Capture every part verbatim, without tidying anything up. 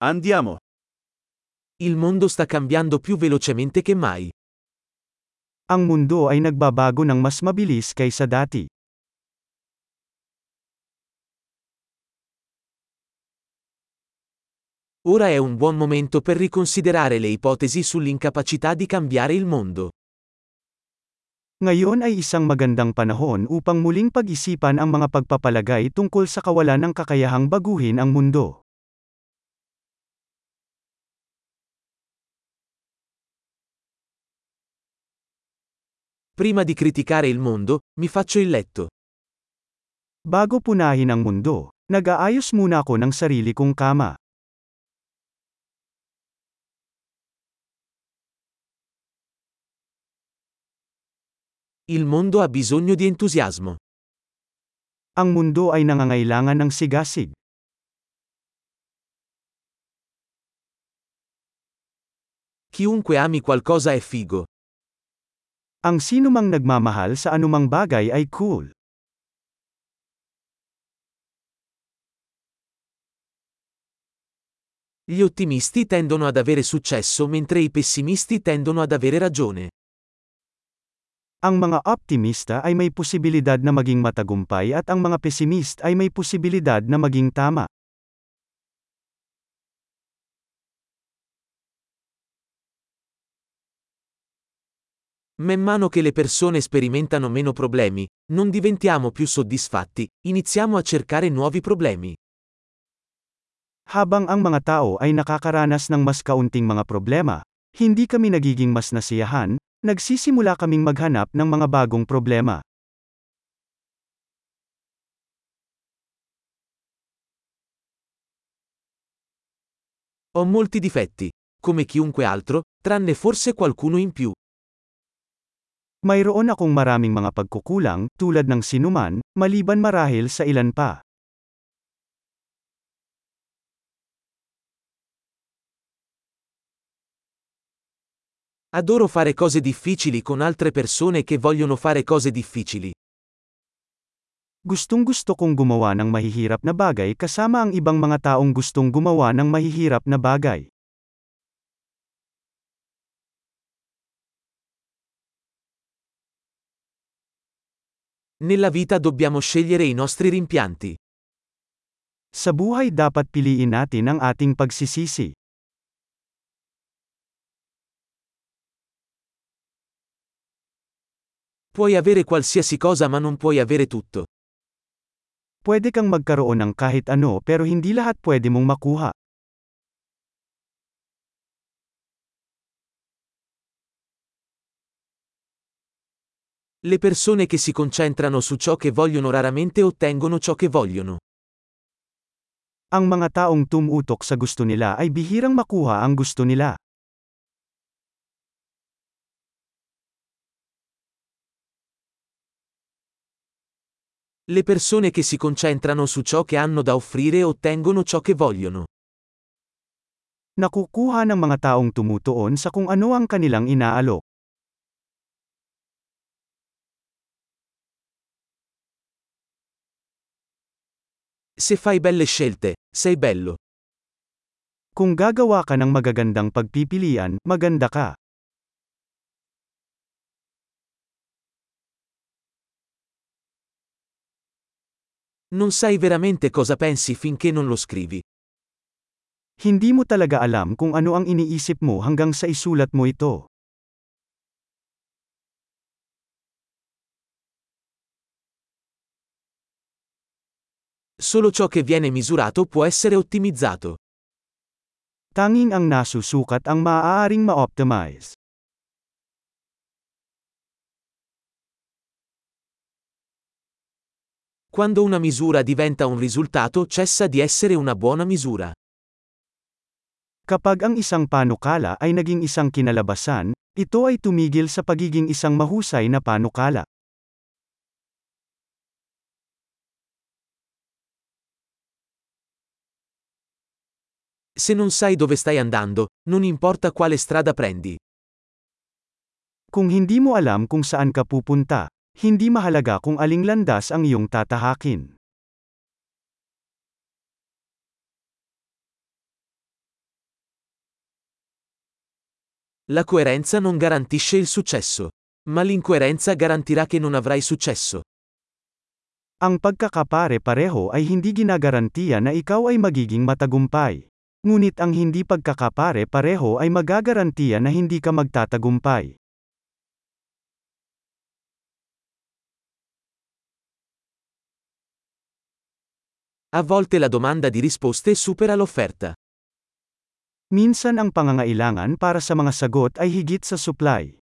Andiamo. Il mondo sta cambiando più velocemente che mai. Ang mundo ay nagbabago ng mas mabilis kaysa dati. Ora è un buon momento per riconsiderare le ipotesi sull'incapacità di cambiare il mondo. Ngayon ay isang magandang panahon upang muling pag-isipan ang mga pagpapalagay tungkol sa kawalan ng kakayahang baguhin ang mundo. Prima di criticare il mondo, mi faccio il letto. Bago punahin ang mundo, nag-aayos muna ako ng sarili kong kama. Il mondo ha bisogno di entusiasmo. Ang mundo ay nangangailangan ng sigasig. Chiunque ami qualcosa è figo. Ang sinumang nagmamahal sa anumang bagay ay cool. Gli ottimisti tendono ad avere successo mentre i pessimisti tendono ad avere ragione. Ang mga optimista ay may posibilidad na maging matagumpay at ang mga pesimist ay may posibilidad na maging tama. Man mano che le persone sperimentano meno problemi, non diventiamo più soddisfatti, iniziamo a cercare nuovi problemi. Habang ang mga tao ay nakakaranas ng mas kaunting mga problema, hindi kami nagiging mas nasiyahan, nagsisimula kaming maghanap ng mga bagong problema. Ho molti difetti, come chiunque altro, tranne forse qualcuno in più. Mayroon akong maraming mga pagkukulang, tulad ng sinuman, maliban marahil sa ilan pa. Adoro fare cose difficili con altre persone che vogliono fare cose difficili. Gustong-gusto kong gumawa ng mahihirap na bagay kasama ang ibang mga taong gustong gumawa ng mahihirap na bagay. Nella vita dobbiamo scegliere i nostri rimpianti. Sa buhay dapat piliin natin ang ating pagsisisi. Puoi avere qualsiasi cosa ma non puoi avere tutto. Pwede kang magkaroon ng kahit ano pero hindi lahat pwede mong makuha. Le persone che si concentrano su ciò che vogliono raramente ottengono ciò che vogliono. Ang mga taong tumutok sa gusto nila ay bihirang makuha ang gusto nila. Le persone che si concentrano su ciò che hanno da offrire ottengono ciò che vogliono. Nakukuha ng mga taong tumutuon sa kung ano ang kanilang inaalok. Se fai belle scelte, sei bello. Kung gagawa ka ng magagandang pagpipilian, maganda ka. Non sai veramente cosa pensi finché non lo scrivi. Hindi mo talaga alam kung ano ang iniisip mo hanggang sa isulat mo ito. Solo ciò che viene misurato può essere ottimizzato. Tanging ang nasusukat ang maaaring ma-optimize. Quando una misura diventa un risultato cessa di essere una buona misura. Kapag ang isang panukala ay naging isang kinalabasan, ito ay tumigil sa pagiging isang mahusay na panukala. Se non sai dove stai andando, non importa quale strada prendi. Kung hindi mo alam kung saan ka pupunta, hindi mahalaga kung aling landas ang iyong tatahakin. La coerenza non garantisce il successo. Ma l'incoerenza garantirà che non avrai successo. Ang pagkakapare-pareho ay hindi ginagarantiya na ikaw ay magiging matagumpay. Ngunit ang hindi pagkakapare-pareho ay magagarantiya na hindi ka magtatagumpay. A volte la domanda di risposte supera l'offerta. Minsan ang pangangailangan para sa mga sagot ay higit sa supply.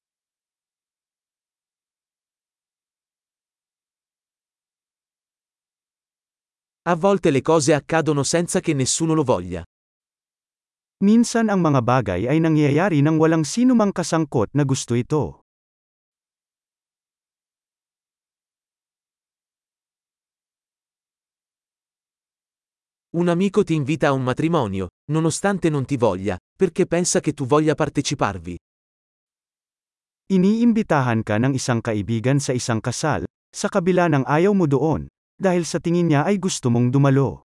A volte le cose accadono senza che nessuno lo voglia. Minsan ang mga bagay ay nangyayari nang walang sinumang kasangkot na gusto ito. Un amico ti invita a un matrimonio, nonostante non ti voglia, perché pensa che tu voglia parteciparvi. Iniimbitahan ka ng isang kaibigan sa isang kasal, sa kabila ng ayaw mo doon, dahil sa tingin niya ay gusto mong dumalo.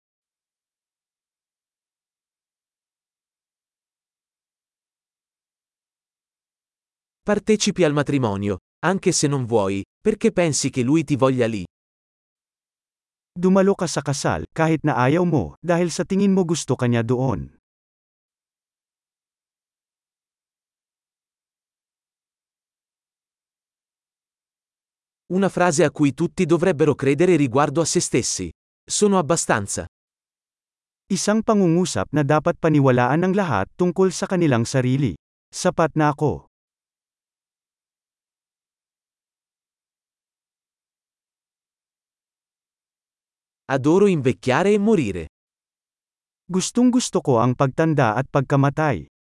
Partecipi al matrimonio, anche se non vuoi, perché pensi che lui ti voglia lì. Dumalo ka sa kasal, kahit na ayaw mo, dahil sa tingin mo gusto ka niya doon. Una frase a cui tutti dovrebbero credere riguardo a se stessi. Sono abbastanza. Isang pangungusap na dapat paniwalaan ng lahat tungkol sa kanilang sarili. Sapat na ako. Adoro invecchiare e morire. Gustong gusto ko ang pagtanda at pagkamatay.